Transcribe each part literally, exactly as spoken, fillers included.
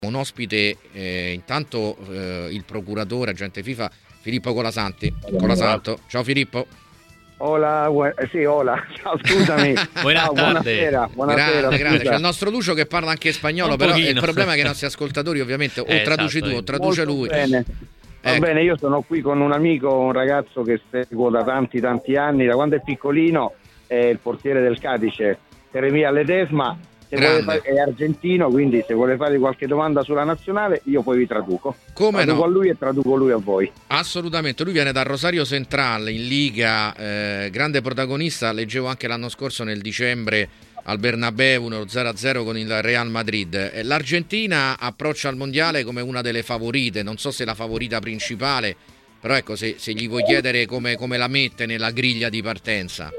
un ospite, eh, intanto eh, il procuratore agente FIFA Filippo Colasanti. Colasanto. Ciao Filippo. Hola, bu- eh, sì, hola, ciao, scusami. Buona Ciao, tarde. buonasera, buonasera. Grande, grande. scusa. C'è il nostro Lucio che parla anche spagnolo, Un però pochino. il problema è che i nostri ascoltatori ovviamente o Eh, traduci esatto, tu o eh. traduce Molto lui. bene. Va Ecco. bene, io sono qui con un amico, un ragazzo che seguo da tanti tanti anni, da quando è piccolino, è il portiere del Cadice, Jeremia Ledesma. Se vuole Grande. fare, è argentino, quindi se vuole fare qualche domanda sulla nazionale, io poi vi traduco. Come traduco no? a lui e traduco lui a voi. Assolutamente, lui viene da Rosario Central in Liga, eh, grande protagonista, leggevo anche l'anno scorso nel dicembre al Bernabeu uno zero a zero con il Real Madrid. Eh, L'Argentina approccia al mondiale come una delle favorite, non so se la favorita principale, però ecco, se, se gli vuoi chiedere come, come la mette nella griglia di partenza.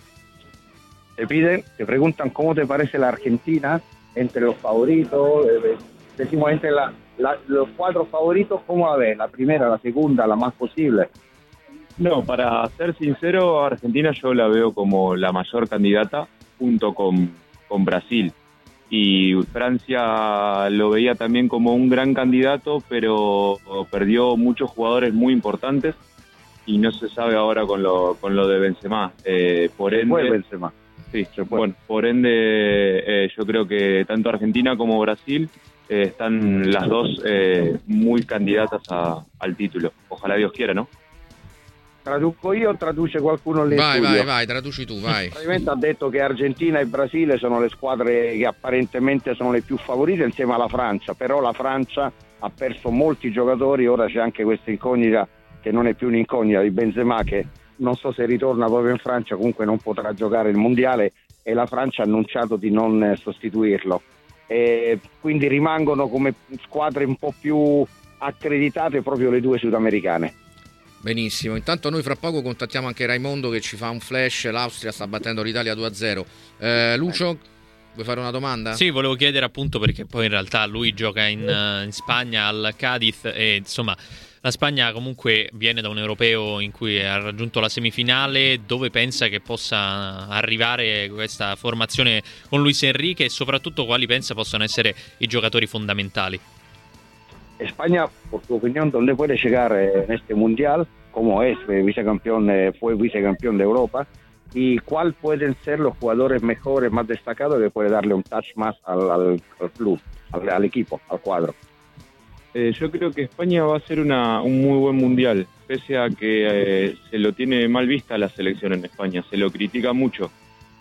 Te piden, te preguntan cómo te parece la Argentina entre los favoritos, eh, decimos entre la, la- los cuatro favoritos, ¿cómo la ves? La primera, la segunda, la más posible. No, para ser sincero, Argentina yo la veo como la mayor candidata junto con, con Brasil. Y Francia lo veía también como un gran candidato, pero perdió muchos jugadores muy importantes y no se sabe ahora con lo, con lo de Benzema. Eh, por ende, Fue Benzema. sí, se puede. bueno, por ende eh, yo creo que tanto Argentina como Brasil eh, están las dos eh, muy candidatas a- al título. Ojalá Dios quiera, ¿no? Traduco io o traduce qualcuno lì in Vai, studio? vai, vai, traduci tu, vai. Praticamente ha detto che Argentina e Brasile sono le squadre che apparentemente sono le più favorite insieme alla Francia, però la Francia ha perso molti giocatori, ora c'è anche questa incognita che non è più un'incognita di Benzema, che non so se ritorna proprio in Francia, comunque non potrà giocare il mondiale e la Francia ha annunciato di non eh, sostituirlo. E quindi rimangono come squadre un po' più accreditate proprio le due sudamericane. Benissimo, intanto noi fra poco contattiamo anche Raimondo che ci fa un flash, l'Austria sta battendo l'Italia due a zero. Eh, Lucio, vuoi fare una domanda? Sì, volevo chiedere appunto perché poi in realtà lui gioca in, eh, in Spagna al Cadiz e insomma la Spagna comunque viene da un europeo in cui ha raggiunto la semifinale. Dove pensa che possa arrivare questa formazione con Luis Enrique e soprattutto quali pensa possano essere i giocatori fondamentali? España, por tu opinión, ¿dónde puede llegar eh, en este mundial? ¿Cómo es eh, vicecampeón, eh, fue vicecampeón de Europa? ¿Y cuál pueden ser los jugadores mejores, más destacados que puede darle un touch más al, al, al club, al, al equipo, al cuadro? Eh, yo creo que España va a ser una, un muy buen mundial, pese a que eh, se lo tiene mal vista la selección en España, se lo critica mucho,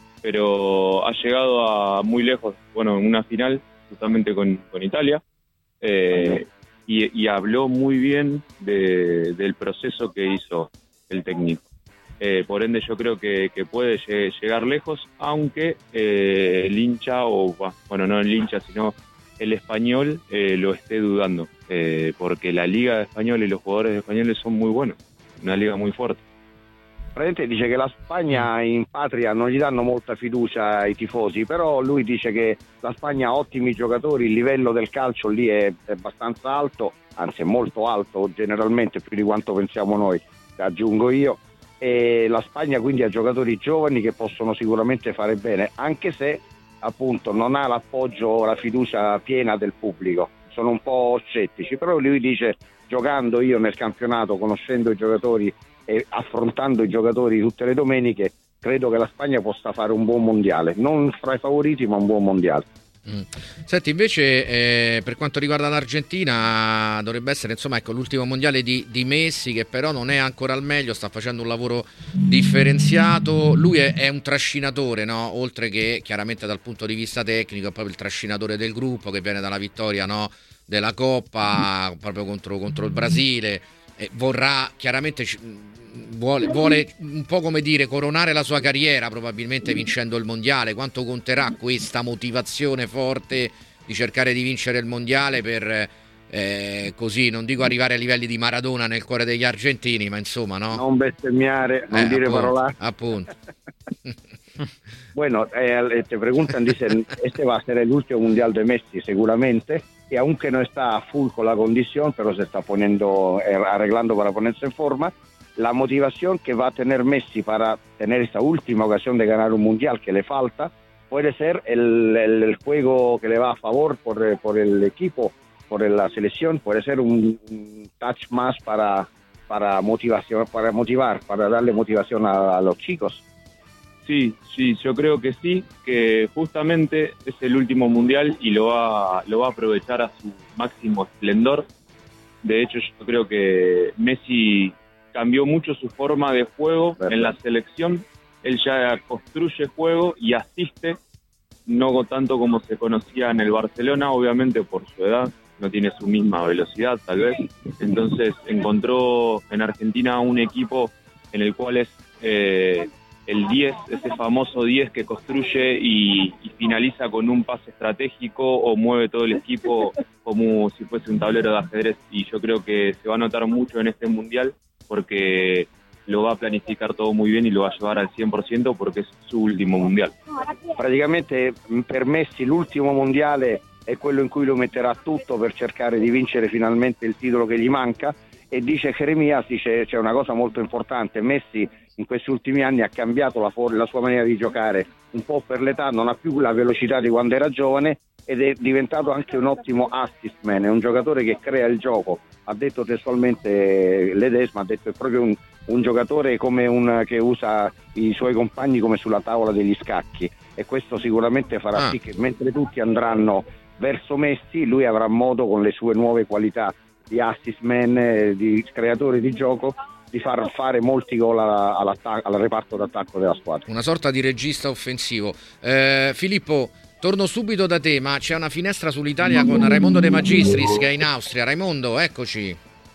pero ha llegado a muy lejos, bueno, en una final justamente con, con Italia, eh, y, y habló muy bien de- del proceso que hizo el técnico. Eh, por ende yo creo que, que puede lle- llegar lejos, aunque eh, el hincha, o bah, bueno, no el hincha, sino el español eh, lo esté dudando, eh, porque la liga española y los jugadores españoles son muy buenos, una liga muy fuerte. Praticamente dice che la Spagna in patria non gli danno molta fiducia ai tifosi, però lui dice che la Spagna ha ottimi giocatori, il livello del calcio lì è, è abbastanza alto, anzi è molto alto, generalmente più di quanto pensiamo noi, aggiungo io, e la Spagna quindi ha giocatori giovani che possono sicuramente fare bene, anche se appunto non ha l'appoggio o la fiducia piena del pubblico, sono un po' scettici, però lui dice, giocando io nel campionato, conoscendo i giocatori e affrontando i giocatori tutte le domeniche, credo che la Spagna possa fare un buon mondiale, non fra i favoriti ma un buon mondiale. Mm. Senti, invece eh, per quanto riguarda l'Argentina dovrebbe essere insomma ecco l'ultimo mondiale di, di Messi, che però non è ancora al meglio, sta facendo un lavoro differenziato. Lui è, è un trascinatore, no? Oltre che chiaramente dal punto di vista tecnico è proprio il trascinatore del gruppo, che viene dalla vittoria, no? Della Coppa proprio contro, contro il Brasile, e vorrà chiaramente ci- vuole, vuole un po' come dire coronare la sua carriera probabilmente vincendo il mondiale. Quanto conterà questa motivazione forte di cercare di vincere il mondiale per eh, così, non dico arrivare ai livelli di Maradona nel cuore degli argentini, ma insomma, no? Non bestemmiare, non Eh, dire appunto, parolacce. appunto. Bueno, eh, te preguntan, dicen, este va a ser el último mundial de Messi seguramente, y aunque no está a full con la condición, pero se está poniendo, eh, arreglando para ponerse en forma, la motivación que va a tener Messi para tener esta última ocasión de ganar un mundial que le falta, puede ser el, el- el juego que le va a favor por, eh, por el equipo por la selección puede ser un, un touch más para, para motivación, para motivar, para darle motivación a, a los chicos. Sí, sí, yo creo que sí, que justamente es el último mundial y lo va, lo va a aprovechar a su máximo esplendor. De hecho, yo creo que Messi cambió mucho su forma de juego en la selección. Él ya construye juego y asiste, no tanto como se conocía en el Barcelona, obviamente por su edad, no tiene su misma velocidad tal vez. Entonces encontró en Argentina un equipo en el cual es eh, el diez, ese famoso diez que construye y, y finaliza con un pase estratégico o mueve todo el equipo como si fuese un tablero de ajedrez. Y yo creo que se va a notar mucho en este mundial porque lo va a planificar todo muy bien y lo va a llevar al cien por ciento porque es su ultimo mundial. Praticamente per Messi l'ultimo mondiale è quello in cui lo metterà tutto per cercare di vincere finalmente il titolo che gli manca, e dice Jeremías, dice c'è una cosa molto importante: Messi in questi ultimi anni ha cambiato la, for- la sua maniera di giocare, un po' per l'età, non ha più la velocità di quando era giovane ed è diventato anche un ottimo assist man, è un giocatore che crea il gioco. Ha detto testualmente Ledesma, ha detto è proprio un, un giocatore come un, che usa i suoi compagni come sulla tavola degli scacchi, e questo sicuramente farà ah. sì che mentre tutti andranno verso Messi, lui avrà modo con le sue nuove qualità di assist man, di creatore di gioco, di far fare molti gol al reparto d'attacco della squadra. Una sorta di regista offensivo. eh, Filippo, torno subito da te, ma c'è una finestra sull'Italia con Raimondo De Magistris che è in Austria. Raimondo, eccoci.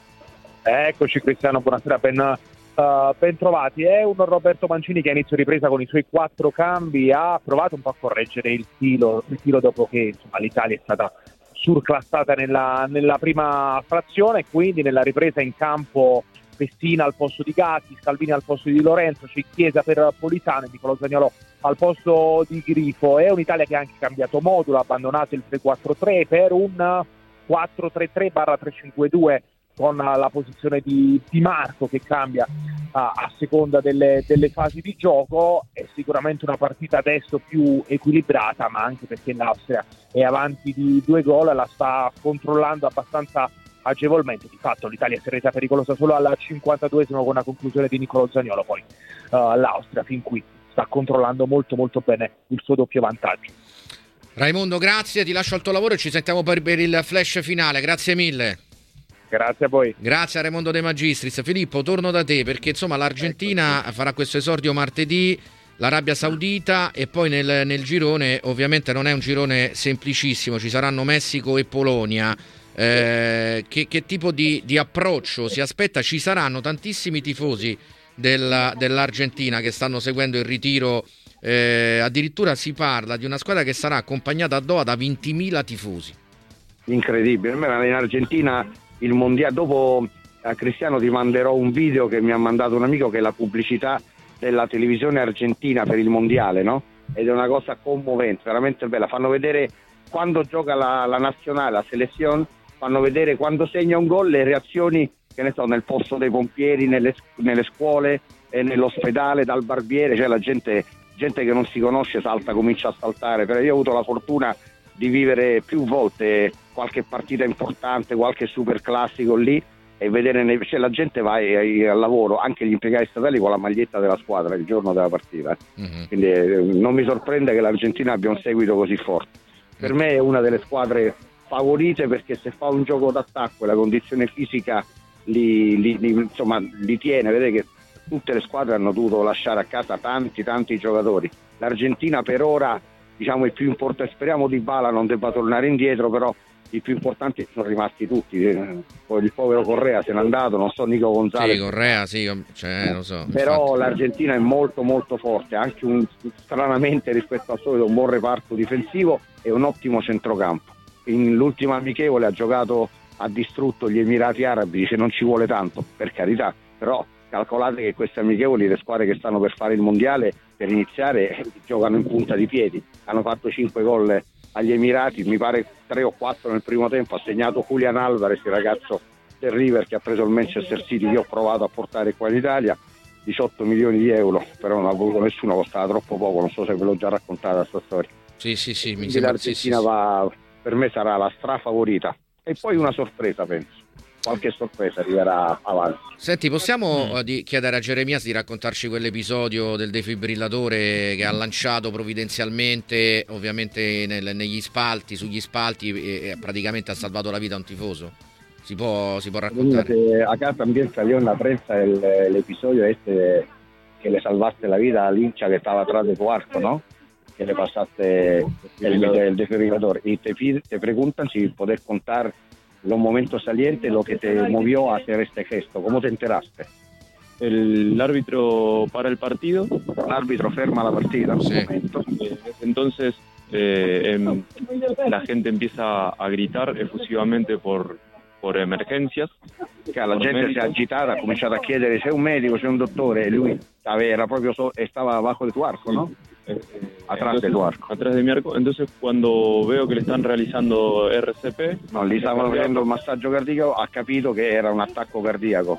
Eccoci Cristiano, buonasera, ben, uh, ben trovati. È un Roberto Mancini che a inizio ripresa con i suoi quattro cambi ha provato un po' a correggere il tiro, il tiro dopo che insomma, l'Italia è stata surclassata nella, nella prima frazione, quindi nella ripresa in campo Pessina al posto di Gatti, Scalvini al posto di Di Lorenzo, c'è Chiesa per Politano e Nicolò Zaniolo al posto di Grifo. È un'Italia che ha anche cambiato modulo, ha abbandonato il tre quattro tre per un quattro tre tre tre cinque due con la posizione di Di Marco che cambia a, a seconda delle, delle fasi di gioco. È sicuramente una partita adesso più equilibrata, ma anche perché l'Austria è avanti di due gol, la sta controllando abbastanza agevolmente. Di fatto l'Italia si è resa pericolosa solo al cinquantaduesimo con la conclusione di Nicolò Zaniolo, poi uh, l'Austria fin qui sta controllando molto molto bene il suo doppio vantaggio. Raimondo, grazie, ti lascio al tuo lavoro e ci sentiamo per, per il flash finale, grazie mille. Grazie a voi. Grazie a Raimondo De Magistris. Filippo, torno da te perché insomma l'Argentina farà questo esordio martedì, l'Arabia Saudita, e poi nel, nel girone, ovviamente non è un girone semplicissimo, ci saranno Messico e Polonia. Eh, che, che tipo di, di approccio si aspetta? Ci saranno tantissimi tifosi della, dell'Argentina che stanno seguendo il ritiro, eh, addirittura si parla di una squadra che sarà accompagnata a Doha da ventimila tifosi. Incredibile. In Argentina il mondiale, dopo a Cristiano ti manderò un video che mi ha mandato un amico, che è la pubblicità della televisione argentina per il mondiale, no? Ed è una cosa commovente, veramente bella. Fanno vedere quando gioca la, la nazionale, la selezione, fanno vedere quando segna un gol le reazioni, che ne so, nel posto dei pompieri, nelle, nelle scuole, e nell'ospedale, dal barbiere, cioè la gente, gente che non si conosce salta, comincia a saltare. Però io ho avuto la fortuna di vivere più volte qualche partita importante, qualche super classico lì, e vedere, cioè la gente va al lavoro, anche gli impiegati statali, con la maglietta della squadra il giorno della partita. Mm-hmm. Quindi eh, non mi sorprende che l'Argentina abbia un seguito così forte. Per me è una delle squadre favorite, perché se fa un gioco d'attacco e la condizione fisica li, li, li, insomma, li tiene. Vedete che tutte le squadre hanno dovuto lasciare a casa tanti tanti giocatori. L'Argentina per ora, diciamo, il più importante, speriamo Dybala non debba tornare indietro, però i più importanti sono rimasti tutti. Poi il povero Correa se n'è andato, non so, Nico Gonzalez. Sì, Correa, sì, cioè, lo so. Però infatti l'Argentina è molto molto forte, anche un, stranamente rispetto al solito, un buon reparto difensivo e un ottimo centrocampo. In l'ultima amichevole ha giocato, ha distrutto gli Emirati Arabi, dice non ci vuole tanto, per carità, però calcolate che queste amichevoli, le squadre che stanno per fare il mondiale, per iniziare giocano in punta di piedi. Hanno fatto cinque gol agli Emirati, mi pare tre o quattro nel primo tempo, ha segnato Julian Alvarez, il ragazzo del River che ha preso il Manchester City, che ho provato a portare qua in Italia, diciotto milioni di euro, però non ha voluto nessuno, costava troppo poco, non so se ve l'ho già raccontata questa storia. Sì, sì, sì, mi Quindi sembra, l'Argentina sì, sì, va, per me sarà la strafavorita. e poi una sorpresa, penso. Qualche sorpresa arriverà avanti. Senti, possiamo Mm. di chiedere a Geremias di raccontarci quell'episodio del defibrillatore che ha lanciato provvidenzialmente, ovviamente nel- negli spalti, sugli spalti, e, e praticamente ha salvato la vita a un tifoso? Si può, si può raccontare? Que a casa también salió en la prensa el, el episodio este de que le salvaste la vida al hincha que estaba atrás de tu arco, ¿no? Que le pasaste el, el desfibrilador. Y te, pide- te preguntan si podés contar los momentos salientes, lo que te movió a hacer este gesto. ¿Cómo te enteraste? El árbitro para el partido. El árbitro ferma la partida en un Sí. momento. Eh, entonces eh, em, la gente empieza a gritar efusivamente por, por emergencias. Che la gente si è agitata, ha cominciato a chiedere c'è un medico, c'è un dottore, e lui era proprio so- estaba abajo de tu arco, ¿no? Eh, Atrás de tu arco. Atrás de mi arco. Entonces cuando veo que le están realizando R C P, No, gli stavano facendo il massaggio cardiaco, ha capito che era un attacco cardiaco.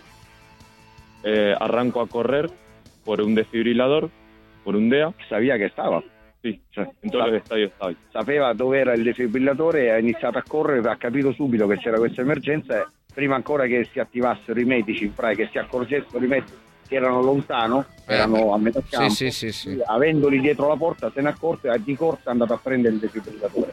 eh, arranco a correr por un desfibrilador, por un D E A. Sabia che stava, Sí, cioè, en todos los estadios está hoy. sapeva dove era il defibrillatore e ha iniziato a correre, ha capito subito che c'era questa emergenza e prima ancora che si attivassero i medici, in pratica, che si accorgessero i medici che erano lontano, erano a metà campo, Sì, sì, sì, sì. avendoli dietro la porta se ne è accorto e di corsa è andato a prendere il defibrillatore.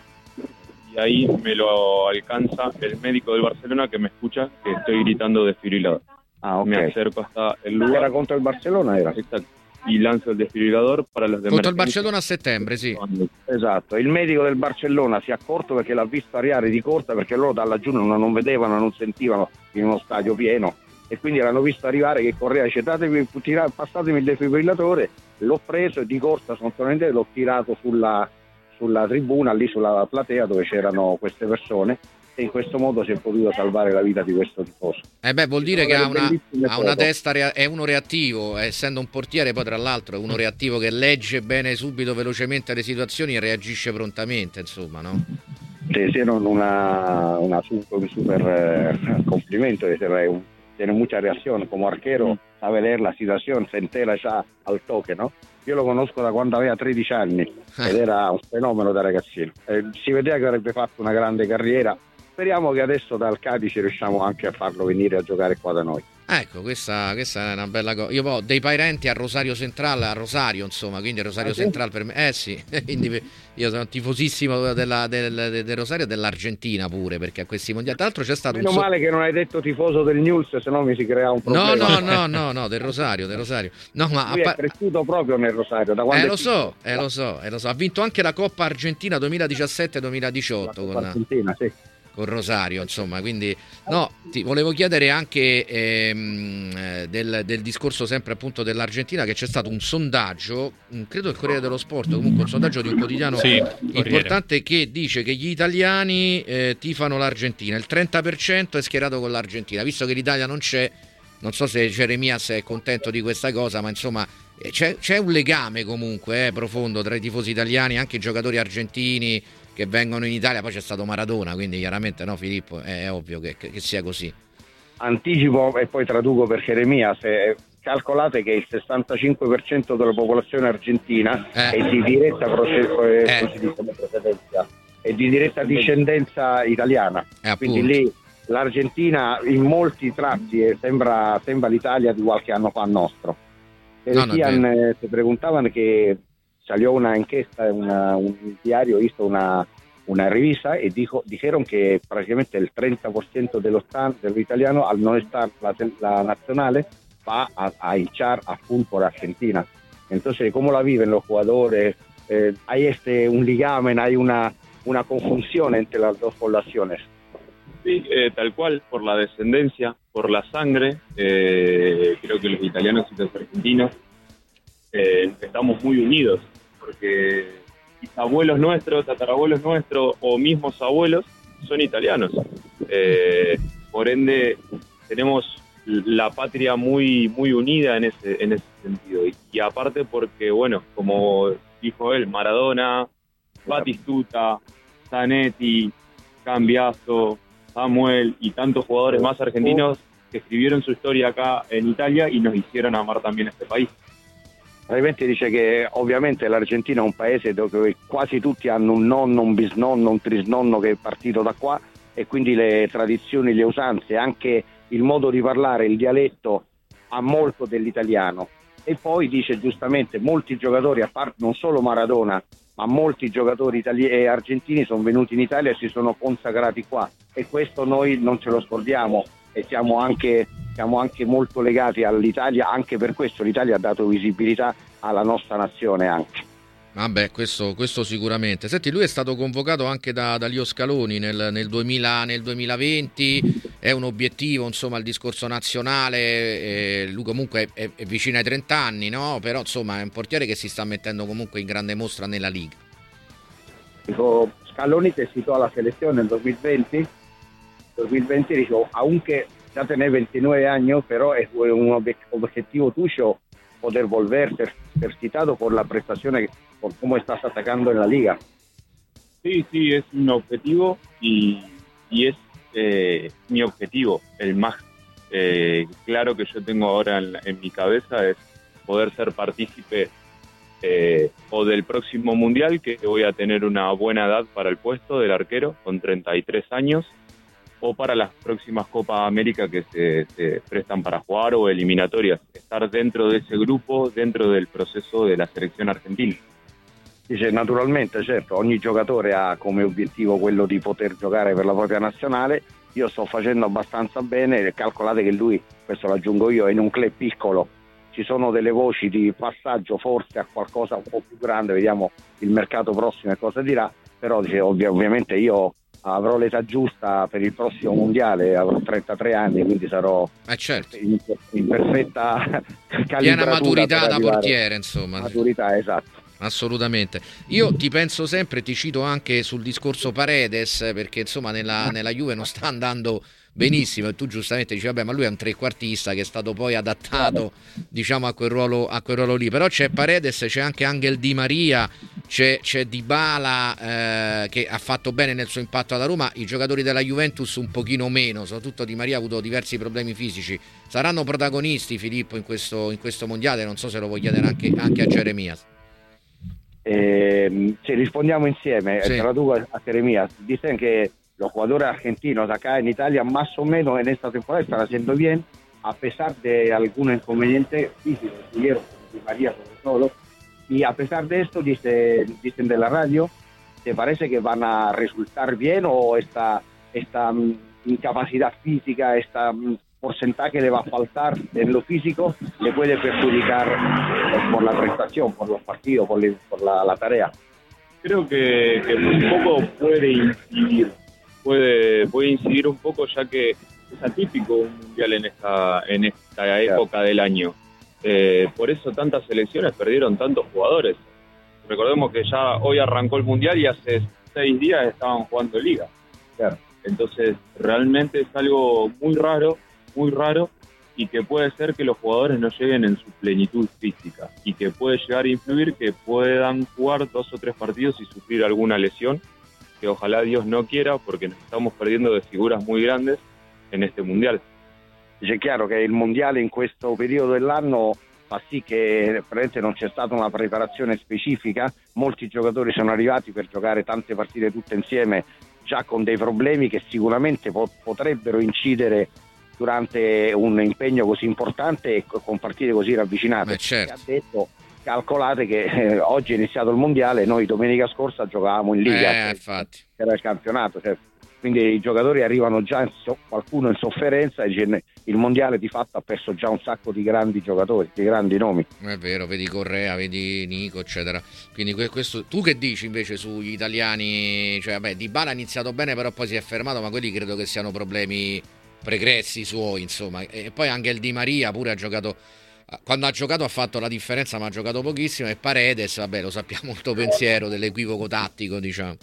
Y ahí me lo alcanza el médico del Barcelona que me escucha que estoy gritando desfibrilador. Ah, ok. Me acerco hasta el Era lugar. contro il Barcellona, era? Exacto. Y lanzo el desfibrilador para los demás. Contro il Barcellona a settembre, sì. Esatto, il medico del Barcellona si è accorto perché l'ha visto arrivare di corsa, perché loro da laggiù non, non vedevano, non sentivano in uno stadio pieno, e quindi l'hanno visto arrivare che correva, dice datevi, tira- passatemi il defibrillatore, l'ho preso e di corsa sostanzialmente l'ho tirato sulla, sulla tribuna, lì sulla platea dove c'erano queste persone, e in questo modo si è potuto salvare la vita di questo tifoso. Eh beh, vuol dire che ha una, Bellissime ha una foto. testa, rea- è uno reattivo, essendo un portiere, poi tra l'altro è uno reattivo che legge bene subito, velocemente le situazioni e reagisce prontamente, insomma, no? Te hicieron una, una super, un super eh, complimento, de ser un- tiene mucha reacción como arquero, sabe leer la situación, se entera ya al toque, ¿no? Io lo conosco da quando aveva tredici anni ed era un fenomeno da ragazzino. Eh, si vedeva che avrebbe fatto una grande carriera. Speriamo che adesso dal Cadice riusciamo anche a farlo venire a giocare qua da noi. Ecco, questa, questa è una bella cosa. Io ho dei parenti a Rosario Centrale, a Rosario, insomma, quindi Rosario Ah, sì? Centrale per me. Eh sì, quindi io sono tifosissimo della, del, del, del Rosario e dell'Argentina pure, perché a questi mondiali. Tra l'altro c'è stato Meno un so- male che non hai detto tifoso del News, se no mi si crea un No, problema. no, no, no, no, del Rosario, del Rosario. No, ma a Lui pa- è cresciuto proprio nel Rosario. Da quando eh è lo so, piccolo. eh lo so, eh lo so. Ha vinto anche la Coppa Argentina duemiladiciassette duemiladiciotto con, Argentina, sì. con Rosario, insomma, quindi no, ti volevo chiedere anche ehm, eh, del, del discorso sempre appunto dell'Argentina, che c'è stato un sondaggio, mh, credo il Corriere dello Sport, comunque un sondaggio di un quotidiano Sì, Corriere. importante, che dice che gli italiani eh, tifano l'Argentina, il trenta per cento è schierato con l'Argentina, visto che l'Italia non c'è. Non so se Jeremias è contento di questa cosa, ma insomma eh, c'è, c'è un legame comunque eh, profondo tra i tifosi italiani, anche i giocatori argentini che vengono in Italia. Poi c'è stato Maradona, quindi chiaramente no, Filippo, è, è ovvio che, che, che sia così. Anticipo e poi traduco per Jeremia. Se calcolate che il sessantacinque per cento della popolazione argentina Eh. è di diretta proce- eh, Eh. come si dice, procedenza, è di diretta discendenza italiana. Eh, Quindi appunto. lì l'Argentina in molti tratti eh, sembra, sembra l'Italia di qualche anno fa nostro. E No, no, è decían, eh, se preguntaban que salió una encuesta en una- un diario, hizo una, una revisa y dijo, dijeron que prácticamente el treinta por ciento de los, tan- de los italianos, al no estar la, la nacional, va a, a hinchar a full por Argentina. Entonces, ¿cómo la viven los jugadores? Eh, hay este un ligamen, hay una, una conjunción entre las dos poblaciones. Sí, eh, tal cual, por la descendencia, por la sangre. Eh, creo que los italianos y los argentinos eh, estamos muy unidos, porque abuelos nuestros, tatarabuelos nuestros o mismos abuelos son italianos. Eh, por ende, tenemos la patria muy muy unida en ese en ese sentido. Y, y aparte porque, bueno, como dijo él, Maradona, Batistuta, Zanetti, Cambiaso, Samuel y tantos jugadores más argentinos che escribieron su storia acá in Italia e nos hicieron amar también este país. Praticamente dice che ovviamente l'Argentina è un paese dove quasi tutti hanno un nonno, un bisnonno, un trisnonno che è partito da qua, e quindi le tradizioni, le usanze, anche il modo di parlare, il dialetto ha molto dell'italiano. E poi dice giustamente molti giocatori, a parte non solo Maradona, ma molti giocatori itali- e argentini sono venuti in Italia e si sono consacrati qua, e questo noi non ce lo scordiamo, e siamo anche, siamo anche molto legati all'Italia, anche per questo l'Italia ha dato visibilità alla nostra nazione anche. Vabbè, questo, questo sicuramente. Senti, lui è stato convocato anche da, da Lio Scaloni nel, nel, duemila, nel duemilaventi, è un obiettivo, insomma, il discorso nazionale, eh, lui comunque è, è vicino ai trenta anni, no? Però insomma è un portiere che si sta mettendo comunque in grande mostra nella Liga. Dijo, Scaloni te citó a la selección en dos mil veinte, dos mil veinte dijo, aunque ya tenés veintinueve años, pero es un ob- objetivo tuyo poder volver, ser, ser citado por la prestación, por cómo estás atacando en la liga. Sí, sí, es un objetivo y, y es eh, mi objetivo, el más eh, claro que yo tengo ahora en, en mi cabeza es poder ser partícipe eh, o del próximo mundial, que voy a tener una buena edad para el puesto del arquero con treinta y tres años, o para las próximas Copa América que se, se prestan para jugar o eliminatorias, estar dentro de ese grupo, dentro del proceso de la selección argentina. Dice, naturalmente, certo, ogni giocatore ha come obiettivo quello di poter giocare per la propria nazionale. Io sto facendo abbastanza bene, calcolate che lui, questo lo aggiungo io, è in un club piccolo, ci sono delle voci di passaggio forse a qualcosa un po' più grande, vediamo il mercato prossimo e cosa dirà, però dice, ovvi- ovviamente io avrò l'età giusta per il prossimo mondiale, avrò trentatré anni, quindi sarò Eh certo, in, in perfetta calibratura, piena maturità per da arrivare- portiere, insomma. Maturità, esatto. Assolutamente. Io ti penso sempre, ti cito anche sul discorso Paredes, perché insomma nella, nella Juve non sta andando benissimo e tu giustamente dici vabbè, ma lui è un trequartista che è stato poi adattato, diciamo, a quel ruolo, a quel ruolo lì. Però c'è Paredes, c'è anche Angel Di Maria, c'è, c'è Dybala, eh, che ha fatto bene nel suo impatto alla Roma. I giocatori della Juventus un pochino meno, soprattutto Di Maria ha avuto diversi problemi fisici. Saranno protagonisti, Filippo, in questo, in questo mondiale? Non so se lo vuoi chiedere anche, anche a Jeremias. Eh, si respondiamo insieme, Sí. te lo digo a Jeremías. Dicen que los jugadores argentinos acá en Italia más o menos en esta temporada están haciendo bien, a pesar de algún inconveniente físico, tuvieron Di María sobre todo, y a pesar de esto dice, dicen de la radio, ¿te parece que van a resultar bien o esta, esta mm, incapacidad física, esta mm, porcentaje le va a faltar en lo físico, le puede perjudicar eh, por la prestación, por los partidos, por, le- por la, la tarea? Creo que, que un poco puede incidir, puede, puede incidir un poco, ya que es atípico un mundial en esta, en esta época del año. Eh, por eso tantas selecciones perdieron tantos jugadores. Recordemos que ya hoy arrancó el mundial y hace seis días estaban jugando liga. Claro. Entonces realmente es algo muy raro, muy raro, y que puede ser que los jugadores no lleguen en su plenitud física y que puede llegar a influir que puedan jugar dos o tres partidos y sufrir alguna lesión, que ojalá Dios no quiera, porque nos estamos perdiendo de figuras muy grandes en este mundial. Dice, chiaro che il mondiale in questo periodo dell'anno fa sì che praticamente non c'è stata una preparazione specifica, molti giocatori sono arrivati per giocare tante partite tutte insieme già con dei problemi che sicuramente po- potrebbero incidere durante un impegno così importante e co- con partite così ravvicinate. Beh, certo. Ha detto, calcolate che eh, oggi è iniziato il mondiale, noi domenica scorsa giocavamo in Liga, Eh, infatti. era il campionato, cioè, quindi i giocatori arrivano già in so- qualcuno in sofferenza e dice, il mondiale di fatto ha perso già un sacco di grandi giocatori, di grandi nomi. È vero, vedi Correa, vedi Nico, eccetera. Quindi que- questo, tu che dici invece sugli italiani? Cioè, vabbè, Dybala ha iniziato bene, però poi si è fermato, ma quelli credo che siano problemi pregressi suoi, insomma. E poi anche il Di Maria pure ha giocato, quando ha giocato ha fatto la differenza, ma ha giocato pochissimo. E Paredes, vabbè, lo sappiamo, il tuo pensiero dell'equivoco tattico, diciamo.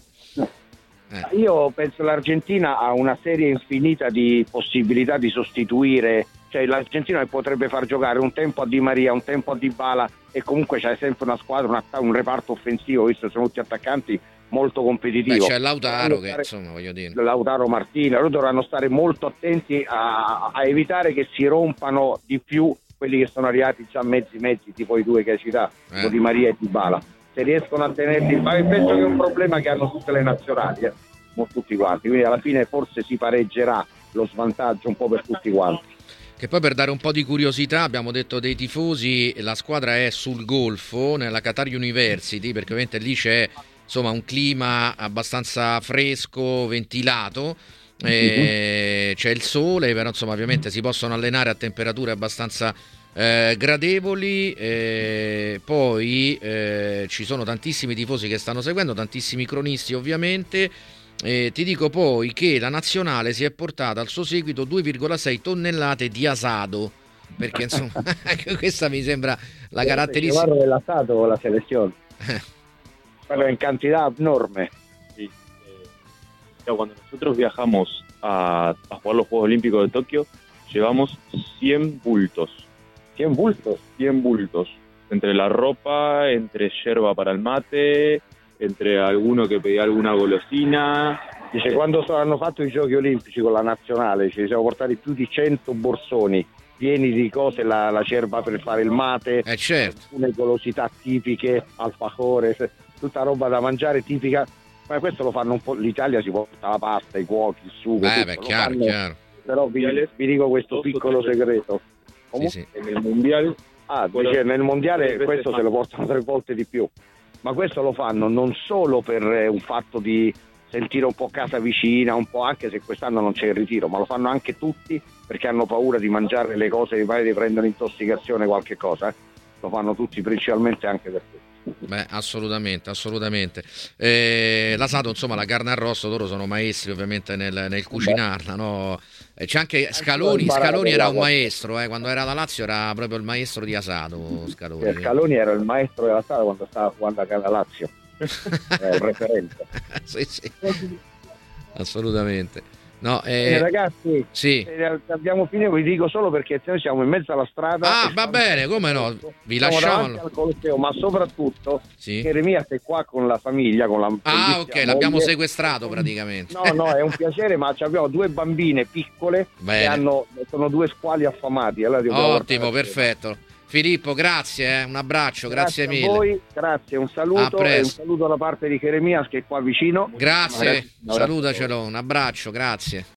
Eh. Io penso l'Argentina ha una serie infinita di possibilità di sostituire, cioè l'Argentina potrebbe far giocare un tempo a Di Maria, un tempo a Dybala e comunque c'è sempre una squadra, un, atta- un reparto offensivo, visto che sono tutti attaccanti, molto competitivo. Beh, c'è Lautaro che, Stare- insomma, voglio dire. Lautaro Martinez, loro dovranno stare molto attenti a, a evitare che si rompano di più quelli che sono arrivati già mezzi mezzi, tipo i due che hai citato, Eh. tipo Di Maria e Dybala. Se riescono a tenerli, ma penso che è un problema che hanno tutte le nazionali. eh. tutti quanti, quindi alla fine forse si pareggerà lo svantaggio un po' per tutti quanti. Che poi, per dare un po' di curiosità, abbiamo detto dei tifosi, la squadra è sul Golfo, nella Qatar University, perché ovviamente lì c'è insomma un clima abbastanza fresco, ventilato, eh, c'è il sole, però insomma ovviamente si possono allenare a temperature abbastanza eh, gradevoli, eh, poi eh, ci sono tantissimi tifosi che stanno seguendo, tantissimi cronisti ovviamente. Eh, ti dico poi che la nazionale si è portata al suo seguito due virgola sei tonnellate di asado, perché insomma questa mi sembra la caratteristica. Guarda dell'asato la selezione, pero en cantidad enorme. Sí. Eh, cuando nosotros viajamos a, a jugar los Juegos Olímpicos de Tokio, llevamos cien bultos. cien bultos. cien bultos. Entre la ropa, entre yerba para el mate, entre alguno che pedía alguna golosina. Dice, quando hanno fatto i giochi olimpici con la nazionale ci siamo portati più di cento borsoni pieni di cose, la, la cerba per fare il mate, eh certo, alcune golosità tipiche, alfajore, tutta roba da mangiare tipica. Ma questo lo fanno un po', l'Italia si porta la pasta, i cuochi, il sugo, eh, tutto, beh, lo chiaro, fanno, chiaro. Però vi, vi dico questo piccolo segreto. Sì, sì. Nel mondiale, ah, dice, nel mondiale questo se lo portano tre volte di più. Ma questo lo fanno non solo per un fatto di sentire un po' casa vicina, un po', anche se quest'anno non c'è il ritiro, ma lo fanno anche tutti perché hanno paura di mangiare le cose, di magari prendono intossicazione, qualche cosa. Eh. Lo fanno tutti, principalmente anche per questo. Beh, assolutamente, assolutamente. Eh, l'asato, insomma, la carne arrosto, loro sono maestri ovviamente nel, nel cucinarla, no? Eh, c'è anche Scaloni, Scaloni era un maestro, eh, quando era la Lazio era proprio il maestro di asato, Scaloni. Eh, Scaloni era il maestro della sala quando stava jugando a la Lazio, era il referente. Sì, sì, assolutamente. No, eh, eh, ragazzi, sì. eh, abbiamo finito, vi dico solo perché noi siamo in mezzo alla strada. Ah, va bene, come no? Vi siamo lasciamo al Colosseo, ma soprattutto sì. Jeremia è qua con la famiglia, con la ah, ok, l'abbiamo moglie. sequestrato praticamente. No, no, è un piacere, ma abbiamo due bambine piccole bene. che hanno, sono due squali affamati. Allora ottimo, perfetto. Filippo, grazie, eh. un abbraccio, grazie, grazie mille. a voi, grazie, un saluto e un saluto da parte di Jeremias che è qua vicino. Grazie, salutacelo, un abbraccio, grazie.